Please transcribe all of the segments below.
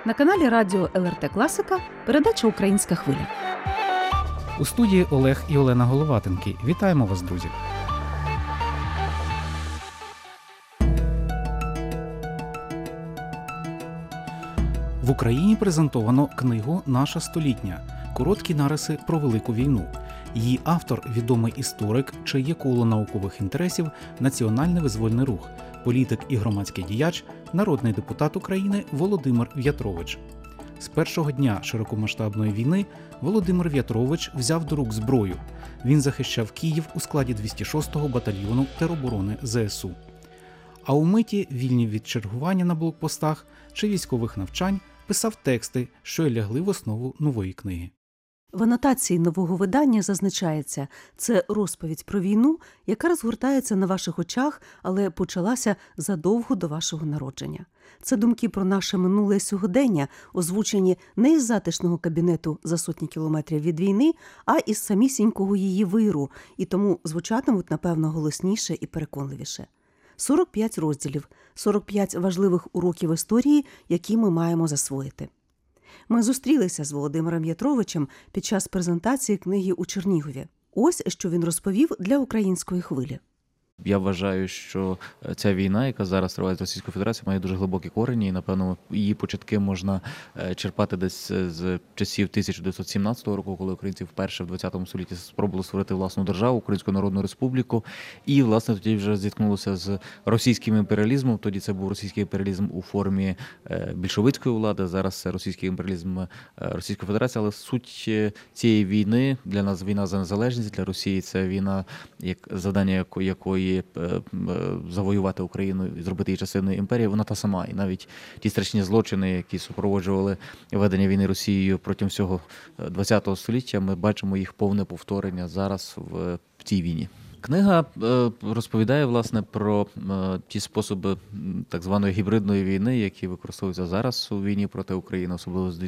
На каналі радіо ЛРТ Класика передача «Українська хвиля». У студії Олег і Олена Головатенки. Вітаємо вас, друзі! В Україні презентовано книгу «Наша столітня. Короткі нариси про Велику війну». Її автор – відомий історик, чиє є коло наукових інтересів Національний визвольний рух, політик і громадський діяч, народний депутат України Володимир В'ятрович. З першого дня широкомасштабної війни Володимир В'ятрович взяв до рук зброю. Він захищав Київ у складі 206-го батальйону тероборони ЗСУ. А у миті, вільні від чергування на блокпостах чи військових навчань, писав тексти, що й лягли в основу нової книги. В анотації нового видання зазначається – це розповідь про війну, яка розгортається на ваших очах, але почалася задовго до вашого народження. Це думки про наше минуле сьогодення, озвучені не із затишного кабінету за сотні кілометрів від війни, а із самісінького її виру, і тому звучатимуть, напевно, голосніше і переконливіше. 45 розділів, 45 важливих уроків історії, які ми маємо засвоїти. Ми зустрілися з Володимиром В'ятровичем під час презентації книги у Чернігові. Ось, що він розповів для «Української хвилі». Я вважаю, що ця війна, яка зараз триває з Російською Федерацією, має дуже глибокі корені, і, напевно, її початки можна черпати десь з часів 1917 року, коли українці вперше в 20 столітті спробували створити власну державу, Українську Народну Республіку, і, власне, тоді вже зіткнулося з російським імперіалізмом. Тоді це був російський імперіалізм у формі більшовицької влади, зараз це російський імперіалізм Російської Федерації, але суть цієї війни, для нас війна за незалежність, для Росії це війна, завдання якої завоювати Україну і зробити її частиною імперії, вона та сама. І навіть ті страшні злочини, які супроводжували ведення війни Росією протягом всього ХХ століття, ми бачимо їх повне повторення зараз в цій війні. Книга розповідає, власне, про ті способи так званої гібридної війни, які використовуються зараз у війні проти України, особливо з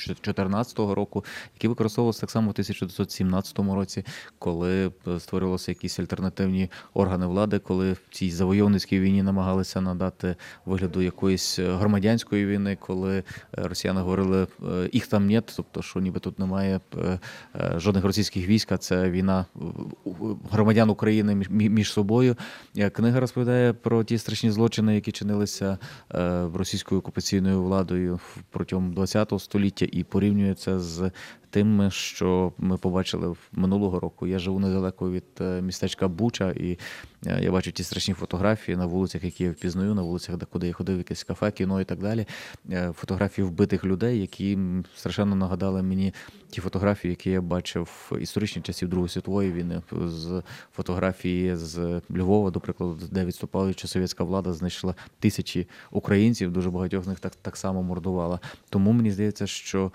2014 року, які використовувалися так само в 1917 році, коли створювалися якісь альтернативні органи влади, коли в цій завойовницькій війні намагалися надати вигляду якоїсь громадянської війни, коли росіяни говорили «їх там нет», тобто, що ніби тут немає жодних російських військ, а це війна громадян України між собою. Книга розповідає про ті страшні злочини, які чинилися російською окупаційною владою протягом ХХ століття, і порівнює це з тим, що ми побачили минулого року. Я живу недалеко від містечка Буча, і я бачу ті страшні фотографії на вулицях, які я впізнаю, на вулицях, куди я ходив, якесь кафе, кіно і так далі. Фотографії вбитих людей, які страшенно нагадали мені ті фотографії, які я бачив в історичні часів Другої світової війни, з фотографії з Львова, до прикладу, де відступаюча совєтська влада знайшла тисячі українців, дуже багатьох з них так само мордувала. Тому мені здається, що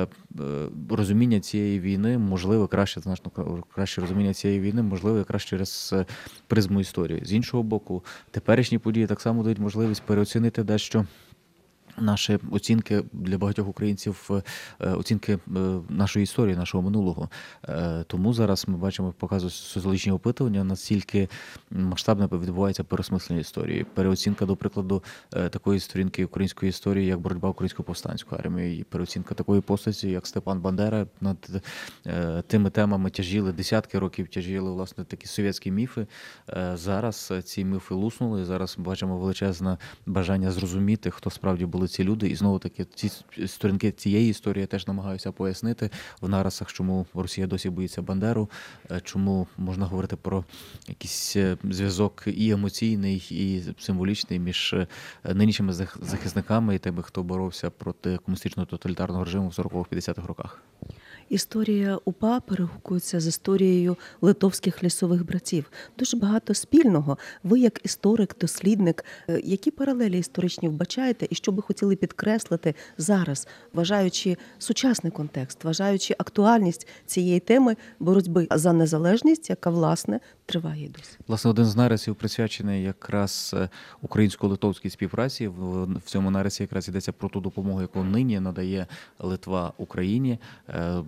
розуміння цієї війни можливо краще, значно краще розуміння цієї війни можливо якраз через призму історії. З іншого боку, теперішні події так само дають можливість переоцінити дещо наші оцінки для багатьох українців, оцінки нашої історії, нашого минулого. Тому зараз ми бачимо, показують соціологічні опитування, наскільки масштабно відбувається переосмислення історії. Переоцінка, до прикладу, такої сторінки української історії, як боротьба української повстанської армії, і переоцінка такої постаті, як Степан Бандера. Над тими темами тяжіли, десятки років тяжіли, власне, такі совєтські міфи. Зараз ці міфи луснули, зараз бачимо величезне бажання зрозуміти, хто справді були ці люди, і знову-таки ці сторінки цієї історії я теж намагаюся пояснити в нарисах, чому Росія досі боїться Бандеру, чому можна говорити про якийсь зв'язок і емоційний, і символічний між нинішніми захисниками і тими, хто боровся проти комуністичного тоталітарного режиму в 40-50-х роках. Історія УПА перегукується з історією литовських лісових братів. Дуже багато спільного. Ви, як історик, дослідник, які паралелі історичні вбачаєте і що би хотіли підкреслити зараз, вважаючи сучасний контекст, вважаючи актуальність цієї теми боротьби за незалежність, яка, власне, триває і досі? Власне, один з нарисів присвячений якраз українсько-литовській співпраці. В цьому нарисі якраз йдеться про ту допомогу, яку нині надає Литва Україні.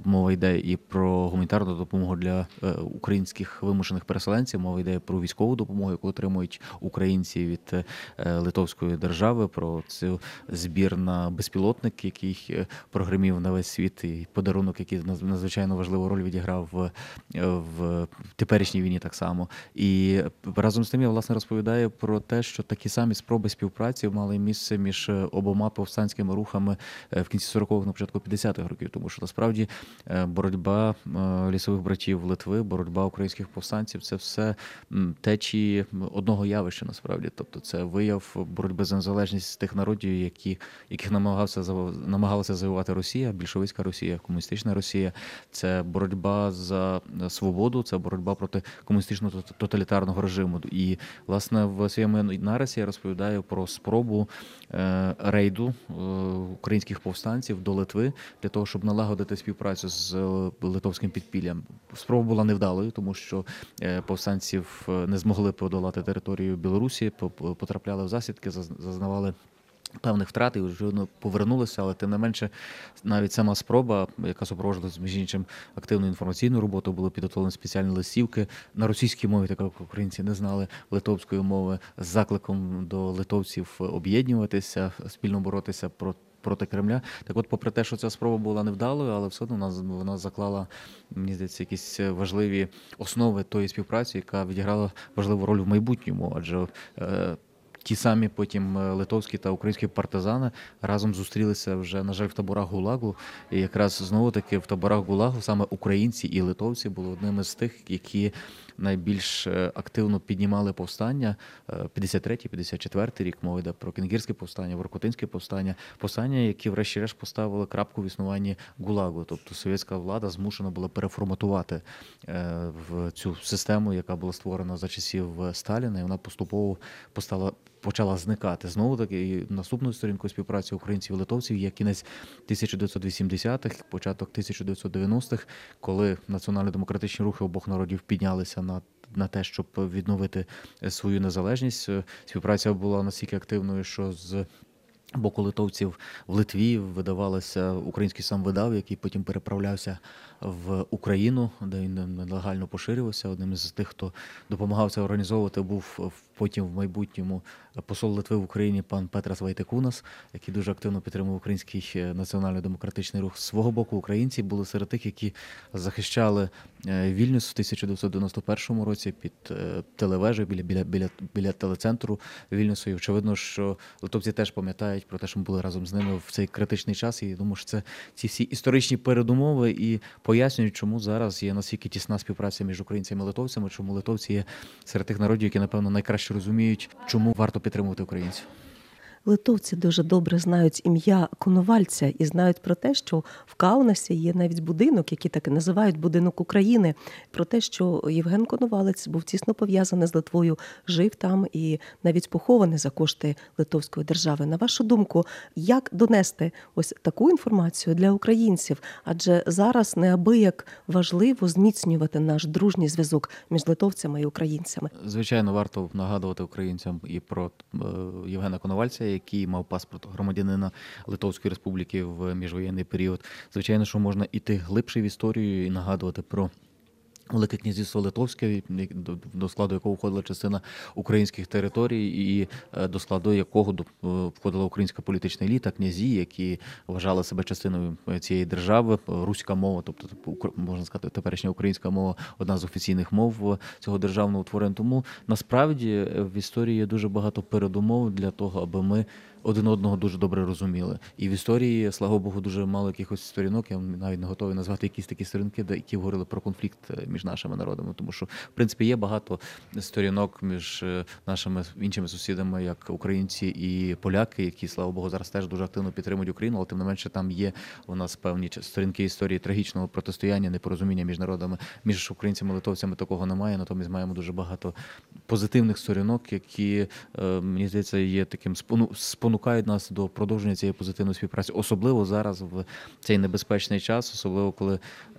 мова йде і про гуманітарну допомогу для українських вимушених переселенців, мова йде про військову допомогу, яку отримують українці від Литовської держави, про цю збір на безпілотник, який прогримів на весь світ, і подарунок, який надзвичайно важливу роль відіграв в теперішній війні так само. І разом з тим я, власне, розповідаю про те, що такі самі спроби співпраці мали місце між обома повстанськими рухами в кінці 40-х, на початку 50-х років, тому що насправді боротьба лісових братів Литви, боротьба українських повстанців – це все течії одного явища, насправді. Тобто це вияв боротьби за незалежність тих народів, яких намагалася завоювати Росія, більшовицька Росія, комуністична Росія. Це боротьба за свободу, це боротьба проти комуністичного тоталітарного режиму. І, власне, в своєму нарисі я розповідаю про спробу рейду українських повстанців до Литви для того, щоб налагодити співпрацю з литовським підпіллям. Спроба була невдалою, тому що повстанців не змогли подолати територію Білорусі, потрапляли в засідки, зазнавали певних втрат і вже повернулися, але тим не менше навіть сама спроба, яка супроводжувалася, між іншим, активною інформаційною роботою, були підготовлені спеціальні листівки на російській мові, так як українці не знали литовської мови, з закликом до литовців об'єднуватися, спільно боротися проти Кремля. Так от, попри те, що ця спроба була невдалою, але все одно вона заклала, мені здається, якісь важливі основи тої співпраці, яка відіграла важливу роль в майбутньому, адже ті самі потім литовські та українські партизани разом зустрілися вже, на жаль, в таборах ГУЛАГу. І якраз знову-таки в таборах ГУЛАГу саме українці і литовці були одними з тих, які найбільш активно піднімали повстання. 53-54 рік, мова йде про Кенгірське повстання, Воркутинське повстання, які врешті-решт поставили крапку в існуванні ГУЛАГу. Тобто совєтська влада змушена була переформатувати в цю систему, яка була створена за часів Сталіна, і вона поступово почала зникати. Знову-таки, наступною сторінкою співпраці українців і литовців є кінець 1980-х, початок 1990-х, коли національно-демократичні рухи обох народів піднялися на те, щоб відновити свою незалежність. Співпраця була настільки активною, що з боку литовців в Литві видавалося український самвидав, який потім переправлявся в Україну, де він нелегально поширювався. Одним із тих, хто допомагав це організовувати, був потім в майбутньому посол Литви в Україні пан Петрас Вайтекунас, який дуже активно підтримував український національно-демократичний рух. З свого боку, українці були серед тих, які захищали Вільнюс в 1991 році під телевежею біля телецентру Вільнюсу. І очевидно, що литовці теж пам'ятають про те, що ми були разом з ними в цей критичний час. І я думаю, що це ці всі історичні передумови і пояснюють, чому зараз є настільки тісна співпраця між українцями і литовцями, чому литовці є серед тих народів, які, напевно, найкраще розуміють, чому варто підтримувати українців. Литовці дуже добре знають ім'я Коновальця і знають про те, що в Каунасі є навіть будинок, який так і називають «Будинок України», про те, що Євген Коновалець був тісно пов'язаний з Литвою, жив там і навіть похований за кошти Литовської держави. На вашу думку, як донести ось таку інформацію для українців? Адже зараз неабияк важливо зміцнювати наш дружній зв'язок між литовцями і українцями. Звичайно, варто нагадувати українцям і про Євгена Коновальця, який мав паспорт громадянина Литовської Республіки в міжвоєнний період. Звичайно, що можна іти глибше в історію і нагадувати про Велике князівство Литовське, до складу якого входила частина українських територій, і до складу якого входила українська політична еліта, князі, які вважали себе частиною цієї держави. Руська мова, тобто, можна сказати, теперішня українська мова – одна з офіційних мов цього державного утворення. Тому, насправді, в історії є дуже багато передумов для того, аби ми один одного дуже добре розуміли. І в історії, слава Богу, дуже мало якихось сторінок, я навіть не готовий назвати якісь такі сторінки, які говорили про конфлікт між нашими народами. Тому що, в принципі, є багато сторінок між нашими іншими сусідами, як українці і поляки, які, слава Богу, зараз теж дуже активно підтримують Україну, але тим не менше там є у нас певні сторінки історії трагічного протистояння, непорозуміння між народами. Між українцями і литовцями такого немає, натомість маємо дуже багато позитивних сторінок, які, мені здається, є таким спонукають нас до продовження цієї позитивної співпраці. Особливо зараз, в цей небезпечний час, особливо коли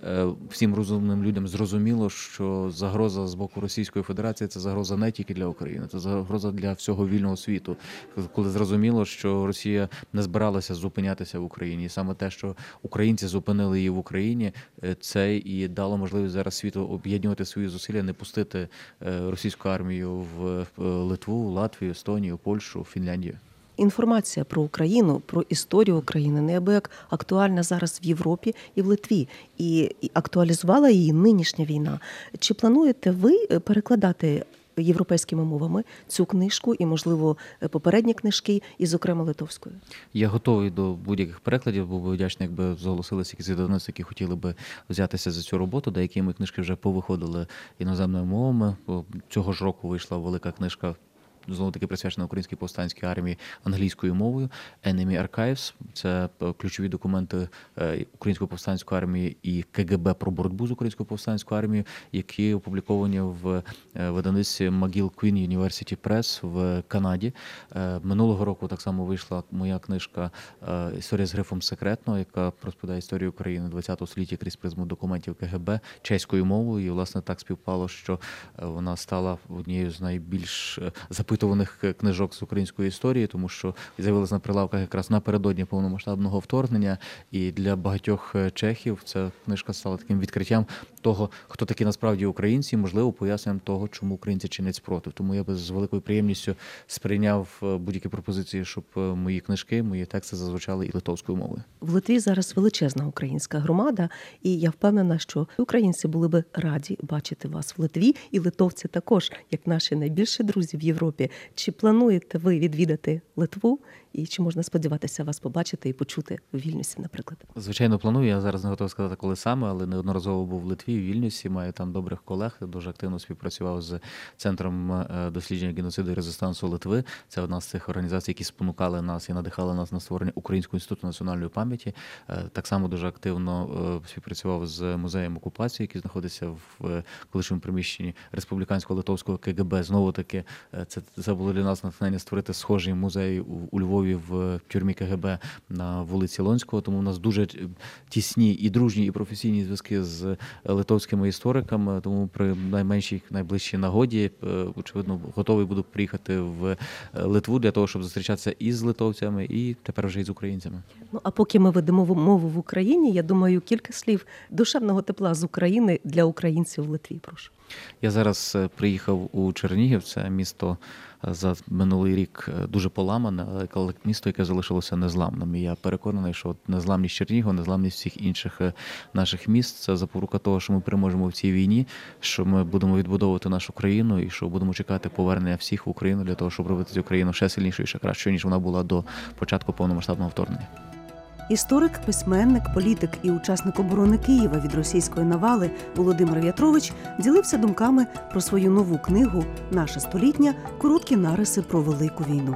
всім розумним людям зрозуміло, що загроза з боку Російської Федерації – це загроза не тільки для України, це загроза для всього вільного світу. Коли зрозуміло, що Росія не збиралася зупинятися в Україні. І саме те, що українці зупинили її в Україні, це і дало можливість зараз світу об'єднувати свої зусилля, не пустити російську армію в Литву, Латвію, Естонію, Польщу, Фінляндію. Інформація про Україну, про історію України неабияк актуальна зараз в Європі і в Литві. І актуалізувала її нинішня війна. Чи плануєте ви перекладати європейськими мовами цю книжку і, можливо, попередні книжки, і, зокрема, литовською? Я готовий до будь-яких перекладів, був би вдячний, якби зголосилися якісь видавництва, які хотіли би взятися за цю роботу. Деякі мої книжки вже повиходили іноземними мовами. Цього ж року вийшла велика книжка, знову-таки присвячена Українській повстанській армії, англійською мовою. Enemy Archives – це ключові документи Української повстанської армії і КГБ про боротьбу з Українською повстанською армією, які опубліковані в видавництві McGill Queen University Press в Канаді. Минулого року так само вийшла моя книжка «Історія з грифом секретно», яка розповідає історію України ХХ століття крізь призму документів КГБ чеською мовою. І, власне, так співпало, що вона стала однією з найбільш запитуваних книжок з української історії, тому що з'явилася на прилавках якраз напередодні повномасштабного вторгнення, і для багатьох чехів ця книжка стала таким відкриттям того, хто такі насправді українці, і, можливо, поясненням того, чому українці чинять спротив. Тому я би з великою приємністю сприйняв будь-які пропозиції, щоб мої книжки, мої тексти зазвучали і литовською мовою. В Литві зараз величезна українська громада, і я впевнена, що українці були би раді бачити вас в Литві, і литовці також, як наші найбільші друзі в Європі. Чи плануєте ви відвідати Литву, і чи можна сподіватися вас побачити і почути в Вільнюсі, наприклад? Звичайно, планую. Я зараз не готовий сказати, коли саме, але неодноразово був в Литві, в Вільнюсі, маю там добрих колег, дуже активно співпрацював з Центром дослідження геноциду і резистансу Литви. Це одна з цих організацій, які спонукали нас і надихали нас на створення Українського інституту національної пам'яті. Так само дуже активно співпрацював з музеєм окупації, який знаходиться в колишньому приміщенні республіканського литовського КГБ. Знову-таки, це було для нас натхнення створити схожий музей у Львові в тюрмі КГБ на вулиці Лонського, тому у нас дуже тісні і дружні, і професійні зв'язки з литовськими істориками, тому при найменшій, найближчій нагоді, очевидно, готовий буду приїхати в Литву для того, щоб зустрічатися і з литовцями, і тепер вже і з українцями. Ну, а поки ми ведемо мову в Україні, я думаю, кілька слів душевного тепла з України для українців в Литві, прошу. Я зараз приїхав у Чернігів, це місто за минулий рік дуже поламане, але місто, яке залишилося незламним. І я переконаний, що незламність Чернігова, незламність всіх інших наших міст – це запорука того, що ми переможемо в цій війні, що ми будемо відбудовувати нашу країну і що будемо чекати повернення всіх в Україну для того, щоб робити цю країну ще сильнішою, ще кращою, ніж вона була до початку повномасштабного вторгнення. Історик, письменник, політик і учасник оборони Києва від російської навали Володимир В'ятрович ділився думками про свою нову книгу «Наша столітня. Короткі нариси про Велику війну».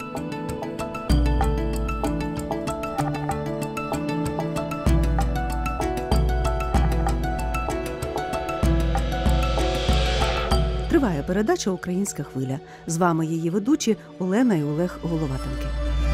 Триває передача «Українська хвиля». З вами її ведучі Олена і Олег Головатенки.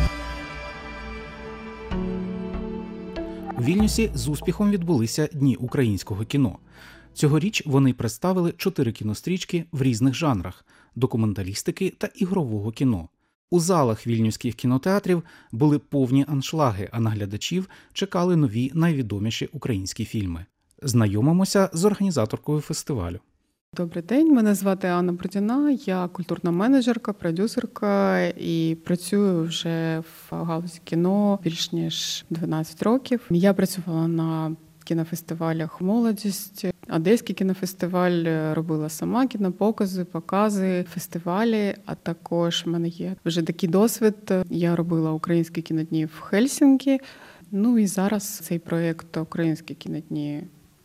У Вільнюсі з успіхом відбулися Дні українського кіно. Цьогоріч вони представили 4 кінострічки в різних жанрах – документалістики та ігрового кіно. У залах вільнюських кінотеатрів були повні аншлаги, а на глядачів чекали нові найвідоміші українські фільми. Знайомимося з організаторкою фестивалю. Добрий день, мене звати Анна Бродіна, я культурна менеджерка, продюсерка і працюю вже в галузі кіно більш ніж 12 років. Я працювала на кінофестивалях «Молодість», Одеський кінофестиваль, робила сама кінопокази, покази, фестивалі, а також в мене є вже такий досвід. Я робила українські кінодні в Хельсінкі, ну і зараз цей проєкт «Українські кінодні»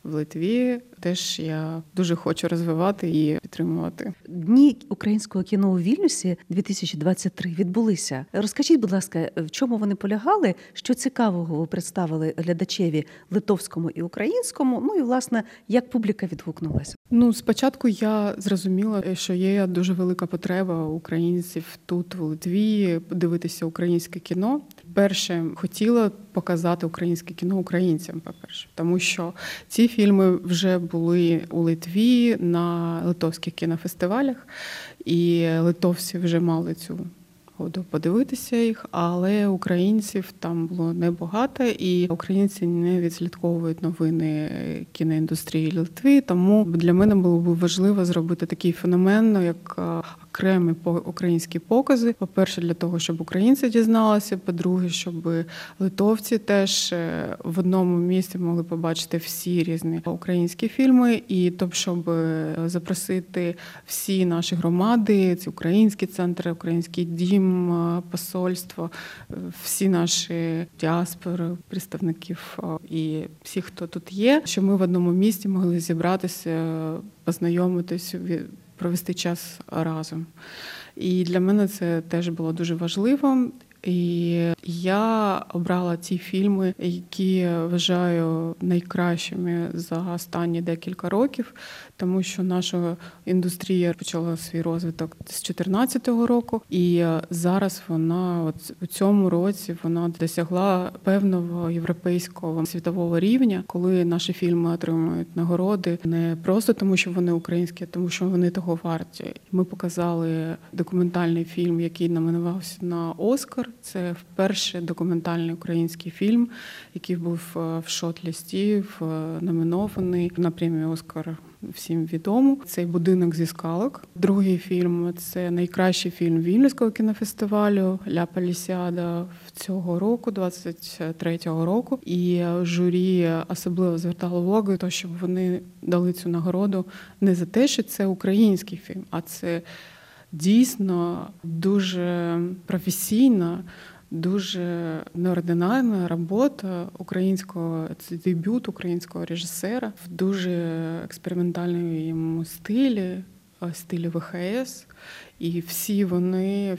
в Литві теж я дуже хочу розвивати і підтримувати. Дні українського кіно у Вільнюсі 2023 відбулися. Розкажіть, будь ласка, в чому вони полягали, що цікавого ви представили глядачеві литовському і українському, ну і, власне, як публіка відгукнулася? Спочатку я зрозуміла, що є дуже велика потреба українців тут, в Литві, подивитися українське кіно. Перше, хотіла показати українське кіно українцям, по-перше, тому що ці фільми вже були у Литві на литовських кінофестивалях, і литовці вже мали цю году подивитися їх, але українців там було небагато, і українці не відслідковують новини кіноіндустрії Литви, тому для мене було б важливо зробити такий феномен, як окремі українські покази. По-перше, для того, щоб українці дізналися, по-друге, щоб литовці теж в одному місці могли побачити всі різні українські фільми, і щоб запросити всі наші громади, ці українські центри, український дім, посольство, всі наші діаспори, представників і всі, хто тут є, щоб ми в одному місці могли зібратися, познайомитись, провести час разом. І для мене це теж було дуже важливо. І я обрала ті фільми, які я вважаю найкращими за останні декілька років, тому що наша індустрія почала свій розвиток з 2014 року, і зараз вона у цьому році вона досягла певного європейського світового рівня, коли наші фільми отримують нагороди не просто тому, що вони українські, а тому, що вони того варті. Ми показали документальний фільм, який номінувався на Оскар. Це вперше документальний український фільм, який був в шорт-лісті, номінований на премію «Оскар». Всім відомо. Цей «Будинок зі скалок». Другий фільм – це найкращий фільм Вільнюського кінофестивалю «Ля Палісіада» цього року, 23-го року. І журі особливо звертало увагу, то, щоб вони дали цю нагороду не за те, що це український фільм, а це дійсно дуже професійна, дуже неординарна робота українського, це дебют українського режисера в дуже експериментальному стилі ВХС. І всі вони,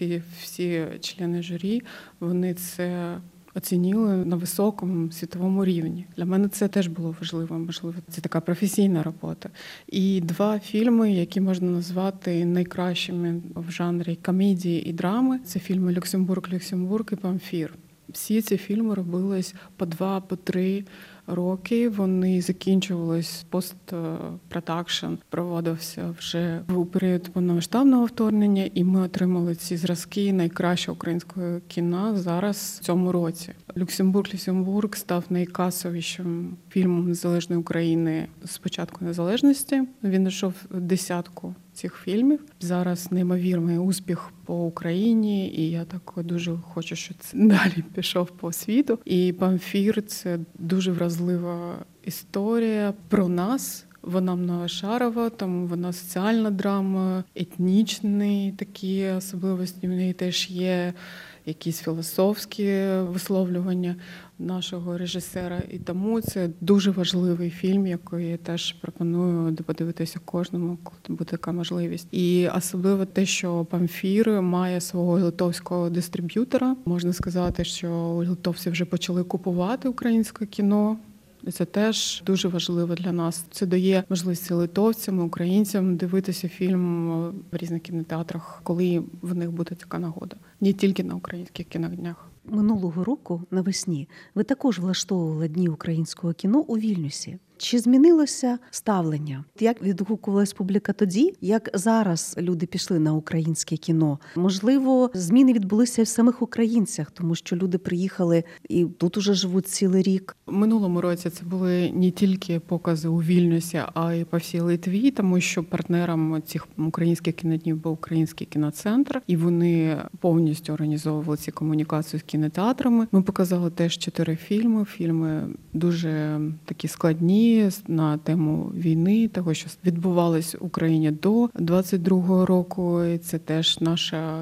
всі члени журі, вони це оцінили на високому світовому рівні. Для мене це теж було важливо. Можливо, це така професійна робота. І два фільми, які можна назвати найкращими в жанрі комедії і драми, це фільми «Люксембург і «Памфір». Всі ці фільми робились по 2, по 3 роки. Вони закінчувались, постпродакшн проводився вже у період повномасштабного вторгнення, і ми отримали ці зразки найкращого українського кіна зараз в цьому році. «Люксембург став найкасовішим фільмом незалежної України з початку незалежності. Він йшов в 10-ку цих фільмів. Зараз неймовірний успіх по Україні, і я так дуже хочу, щоб це далі пішов по світу. І «Памфір» – це дуже вразлива історія про нас. Вона многошарова, тому вона соціальна драма, етнічні такі особливості. В неї теж є якісь філософські висловлювання нашого режисера. І тому це дуже важливий фільм, який я теж пропоную подивитися кожному, коли буде така можливість. І особливо те, що «Памфір» має свого литовського дистриб'ютора. Можна сказати, що литовці вже почали купувати українське кіно. Це теж дуже важливо для нас. Це дає можливість литовцям, українцям дивитися фільм в різних кінотеатрах, коли в них буде така нагода. Не тільки на українських кіноднях. Минулого року навесні ви також влаштовували Дні українського кіно у Вільнюсі. Чи змінилося ставлення? Як відгукувалась публіка тоді? Як зараз люди пішли на українське кіно? Можливо, зміни відбулися і в самих українцях, тому що люди приїхали і тут уже живуть цілий рік. У минулому році це були не тільки покази у Вільнюсі, а й по всій Литві, тому що партнером цих українських кіноднів був Український кіноцентр, і вони повністю організовували ці комунікації з кінотеатрами. Ми показали теж 4 фільми. Фільми дуже такі складні, на тему війни, того, що відбувалось в Україні до 22-го року. І це теж наша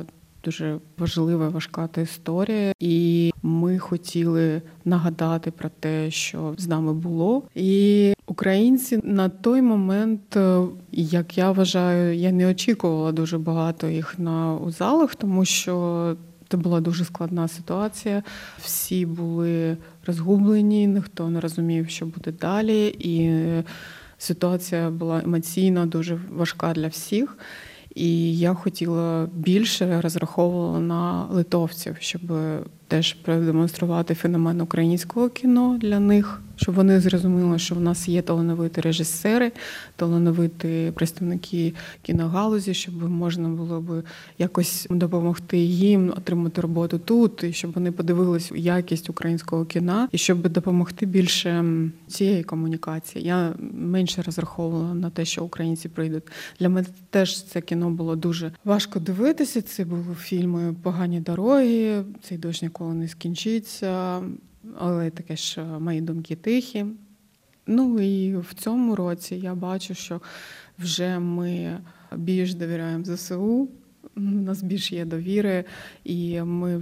дуже важлива, важка та історія. І ми хотіли нагадати про те, що з нами було. І українці на той момент, як я вважаю, я не очікувала дуже багато їх у залах, тому що це була дуже складна ситуація. Всі були розгублені, ніхто не розумів, що буде далі. І ситуація була емоційно дуже важка для всіх. І я хотіла більше, розраховувала на литовців, щоб теж продемонструвати феномен українського кіно для них, щоб вони зрозуміли, що в нас є талановиті режисери, талановиті представники кіногалузі, щоб можна було б якось допомогти їм отримати роботу тут, і щоб вони подивились якість українського кіно, і щоб допомогти більше цієї комунікації. Я менше розраховувала на те, що українці прийдуть. Для мене теж це кіно було дуже важко дивитися. Це були фільми «Погані дороги», «Цей дощ ніколи не скінчиться», але таке ж «Мої думки тихі». Ну і в цьому році я бачу, що вже ми більш довіряємо ЗСУ, у нас більше є довіри, і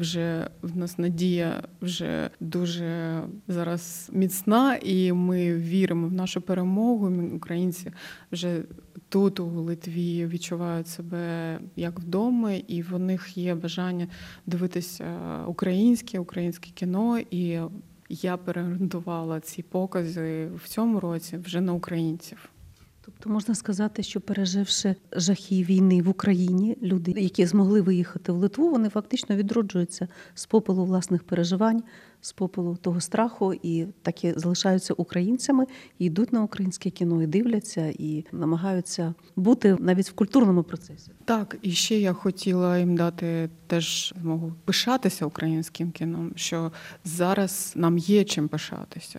в нас надія вже дуже зараз міцна, і ми віримо в нашу перемогу. Українці вже тут, у Литві, відчувають себе як вдома, і в них є бажання дивитися українське кіно, і я переорієнтувала ці покази в цьому році вже на українців. Тобто можна сказати, що переживши жахи війни в Україні, люди, які змогли виїхати в Литву, вони фактично відроджуються з попелу власних переживань, з попелу того страху, і так і залишаються українцями, і йдуть на українське кіно, і дивляться, і намагаються бути навіть в культурному процесі. Так, і ще я хотіла їм дати теж змогу пишатися українським кіном, що зараз нам є чим пишатися.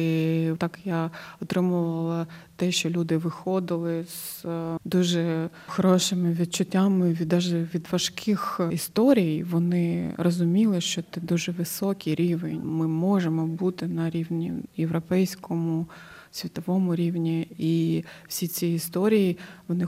І так я отримувала те, що люди виходили з дуже хорошими відчуттями, навіть від важких історій. Вони розуміли, що це дуже високий рівень. Ми можемо бути на рівні європейському, світовому рівні. І всі ці історії, вони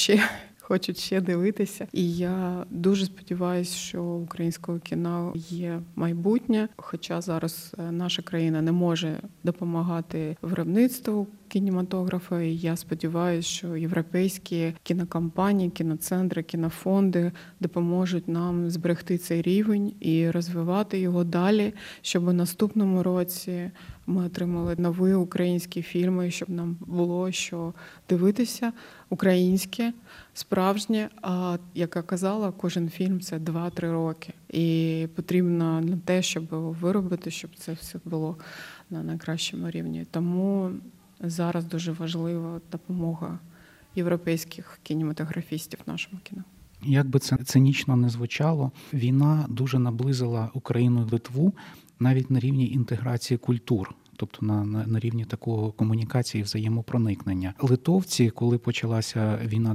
хочуть ще дивитися. І я дуже сподіваюся, що у українського кіно є майбутнє. Хоча зараз наша країна не може допомагати виробництву кінематографа. І я сподіваюся, що європейські кінокомпанії, кіноцентри, кінофонди допоможуть нам зберегти цей рівень і розвивати його далі, щоб у наступному році ми отримали нові українські фільми, щоб нам було що дивитися українське, справжнє. А, як я казала, кожен фільм – це 2-3 роки. І потрібно на те, щоб виробити, щоб це все було на найкращому рівні. Тому зараз дуже важлива допомога європейських кінематографістів нашому кіно. Як би це цинічно не звучало, війна дуже наблизила Україну і Литву навіть на рівні інтеграції культур. Тобто на рівні такого комунікації і взаємопроникнення. Литовці, коли почалася війна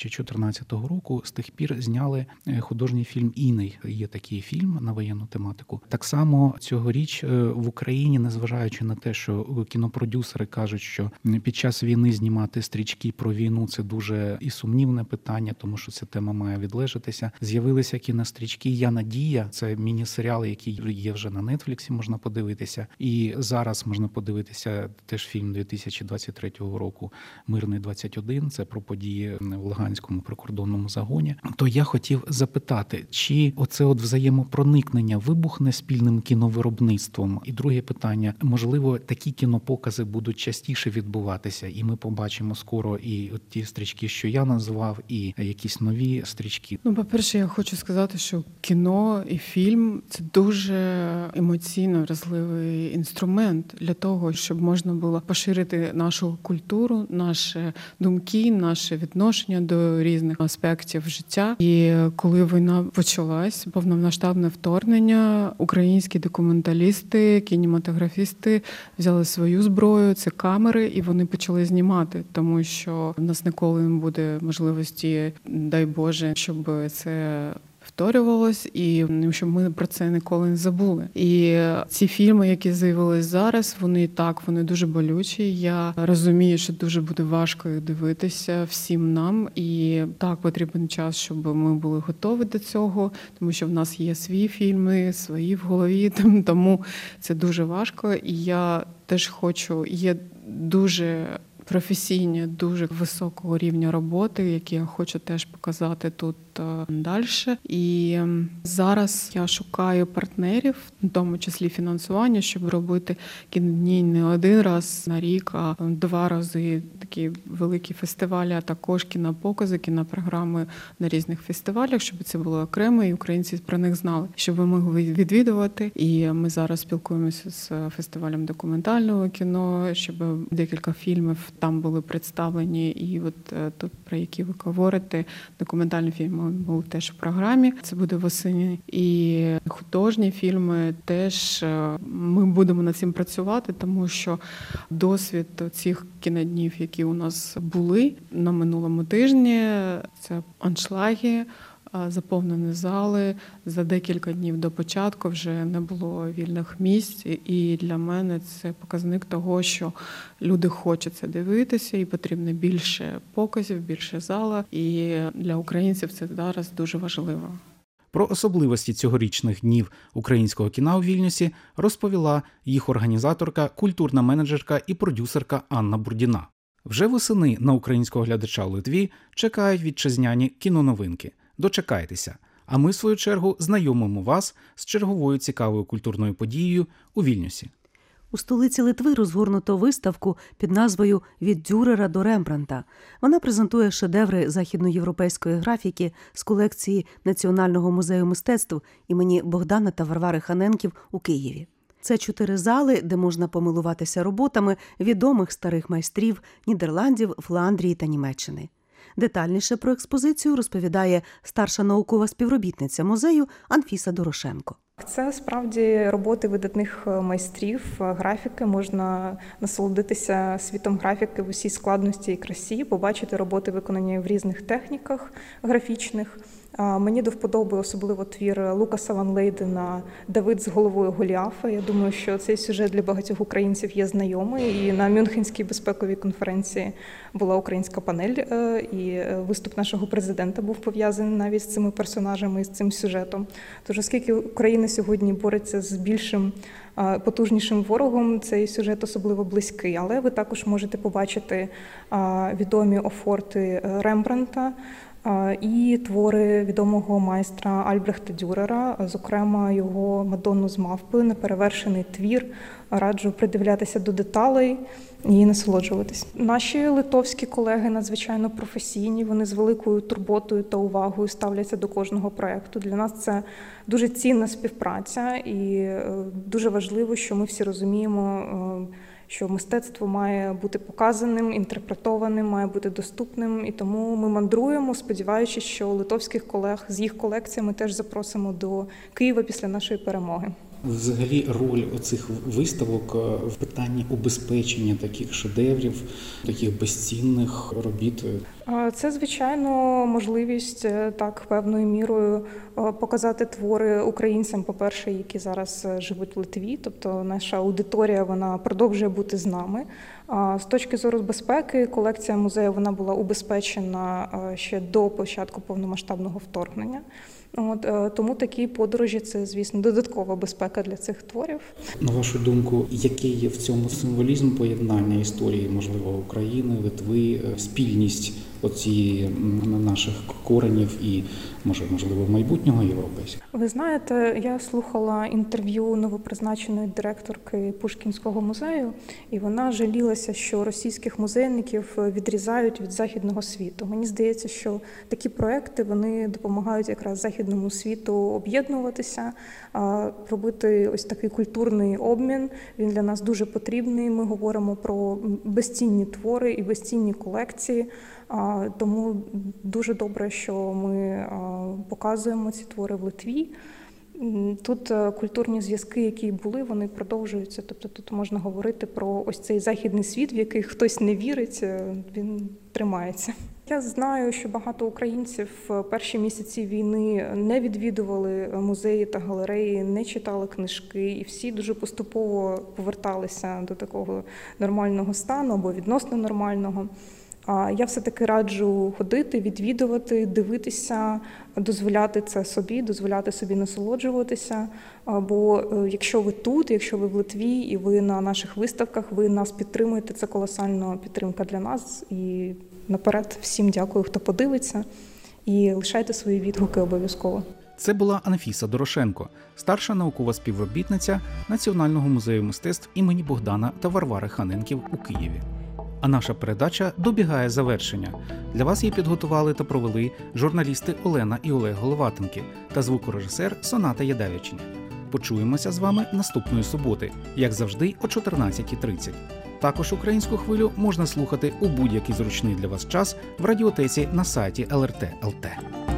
2014 року, з тих пір зняли художній фільм «Іний». Є такий фільм на воєнну тематику. Так само цьогоріч в Україні, незважаючи на те, що кінопродюсери кажуть, що під час війни знімати стрічки про війну – це дуже і сумнівне питання, тому що ця тема має відлежатися. З'явилися кінострічки «Я Надія». Це міні-серіал, який є вже на Нетфліксі, можна подивитися. І зараз можна подивитися теж фільм 2023 року «Мирний 21», це про події в Луганському прикордонному загоні. То я хотів запитати, чи оце взаємопроникнення вибухне спільним кіновиробництвом? І друге питання, можливо, такі кінопокази будуть частіше відбуватися, і ми побачимо скоро і от ті стрічки, що я назвав, і якісь нові стрічки? По-перше, я хочу сказати, що кіно і фільм – це дуже емоційно вразливий інструмент для того, щоб можна було поширити нашу культуру, наші думки, наше відношення до різних аспектів життя. І коли війна почалась, повномасштабне вторгнення, українські документалісти, кінематографісти взяли свою зброю, це камери, і вони почали знімати, тому що в нас ніколи не буде можливості, дай Боже, щоб це повторювалось, і щоб ми про це ніколи не забули. І ці фільми, які з'явились зараз, вони дуже болючі. Я розумію, що дуже буде важко їх дивитися всім нам, і так потрібен час, щоб ми були готові до цього, тому що в нас є свої фільми, свої в голові, тому це дуже важко. І я теж хочу, є дуже професійні, дуже високого рівня роботи, які я хочу теж показати тут далі. І зараз я шукаю партнерів, в тому числі фінансування, щоб робити кінодні не один раз на рік, а 2 рази такі великі фестивалі, а також кінопокази, кінопрограми на різних фестивалях, щоб це було окремо, і українці про них знали, щоб ми могли відвідувати. І ми зараз спілкуємося з фестивалем документального кіно, щоб декілька фільмів там були представлені, і от тут, про які ви говорите, документальні фільми були теж в програмі. Це буде восени. І художні фільми теж ми будемо над цим працювати, тому що досвід цих кіноднів, які у нас були на минулому тижні, це аншлаги, заповнені зали. За декілька днів до початку вже не було вільних місць. І для мене це показник того, що люди хочуть це дивитися, і потрібно більше показів, більше зала. І для українців це зараз дуже важливо. Про особливості цьогорічних днів українського кіна у Вільнюсі розповіла їх організаторка, культурна менеджерка і продюсерка Анна Бурдіна. Вже восени на українського глядача у Литві чекають вітчизняні кіноновинки. Дочекайтеся, а ми, в свою чергу, знайомимо вас з черговою цікавою культурною подією у Вільнюсі. У столиці Литви розгорнуто виставку під назвою «Від Дюрера до Рембрандта». Вона презентує шедеври західноєвропейської графіки з колекції Національного музею мистецтв імені Богдана та Варвари Ханенків у Києві. Це 4 зали, де можна помилуватися роботами відомих старих майстрів Нідерландів, Фландрії та Німеччини. Детальніше про експозицію розповідає старша наукова співробітниця музею Анфіса Дорошенко. Це справді роботи видатних майстрів графіки. Можна насолодитися світом графіки в усій складності і красі, побачити роботи, виконані в різних техніках графічних. Мені до вподоби особливо твір Лукаса Ван Лейдена «Давид з головою Голіафа». Я думаю, що цей сюжет для багатьох українців є знайомий. І на Мюнхенській безпековій конференції була українська панель, і виступ нашого президента був пов'язаний навіть з цими персонажами і з цим сюжетом. Тож, оскільки Україна сьогодні бореться з більшим, потужнішим ворогом, цей сюжет особливо близький. Але ви також можете побачити відомі офорти Рембрандта, і твори відомого майстра Альбрехта Дюрера, зокрема його «Мадонну з мавпи», неперевершений твір. Раджу придивлятися до деталей і насолоджуватись. Наші литовські колеги надзвичайно професійні, вони з великою турботою та увагою ставляться до кожного проєкту. Для нас це дуже цінна співпраця і дуже важливо, що ми всі розуміємо, що мистецтво має бути показаним, інтерпретованим, має бути доступним. І тому ми мандруємо, сподіваючись, що литовських колег з їх колекціями теж запросимо до Києва після нашої перемоги. Взагалі роль оцих виставок в питанні убезпечення таких шедеврів, таких безцінних робіт? Це, звичайно, можливість так певною мірою показати твори українцям, по-перше, які зараз живуть в Литві, тобто наша аудиторія, вона продовжує бути з нами. З точки зору безпеки, колекція музею, вона була убезпечена ще до початку повномасштабного вторгнення. Тому такі подорожі – це, звісно, додаткова безпека для цих творів. На вашу думку, який є в цьому символізм поєднання історії, можливо, України, Литви, спільність оцієї наших коренів і, можливо, майбутнього європейського? Ви знаєте, я слухала інтерв'ю новопризначеної директорки Пушкінського музею, і вона жалілася, що російських музейників відрізають від західного світу. Мені здається, що такі проекти, вони допомагають якраз західному світу об'єднуватися, робити ось такий культурний обмін. Він для нас дуже потрібний. Ми говоримо про безцінні твори і безцінні колекції. Тому дуже добре, що ми показуємо ці твори в Литві. Тут культурні зв'язки, які були, вони продовжуються. Тобто тут можна говорити про ось цей західний світ, в який хтось не вірить, він тримається. Я знаю, що багато українців в перші місяці війни не відвідували музеї та галереї, не читали книжки, і всі дуже поступово поверталися до такого нормального стану або відносно нормального. А я все-таки раджу ходити, відвідувати, дивитися, дозволяти це собі, дозволяти собі насолоджуватися. Бо якщо ви тут, якщо ви в Литві і ви на наших виставках, ви нас підтримуєте, це колосальна підтримка для нас. І наперед всім дякую, хто подивиться, і лишайте свої відгуки обов'язково. Це була Анфіса Дорошенко, старша наукова співробітниця Національного музею мистецтв імені Богдана та Варвари Ханенків у Києві. А наша передача добігає завершення. Для вас її підготували та провели журналісти Олена і Олег Головатенки та звукорежисер Соната Ядевичня. Почуємося з вами наступної суботи, як завжди, о 14:30. Також українську хвилю можна слухати у будь-який зручний для вас час в радіотеці на сайті LRT.lt.